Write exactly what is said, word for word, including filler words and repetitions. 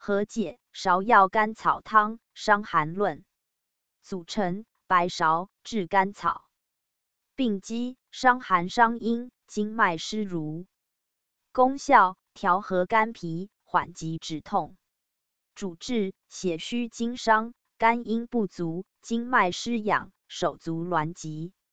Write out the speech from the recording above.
和解，芍藥甘草湯，傷寒論。組成：白芍、炙甘草。病機：傷寒傷陰，經脈濕濡。功效：調和肝脾，緩急止痛。主治：血虛經傷、肝陰不足、經脈失養、手足痠疾。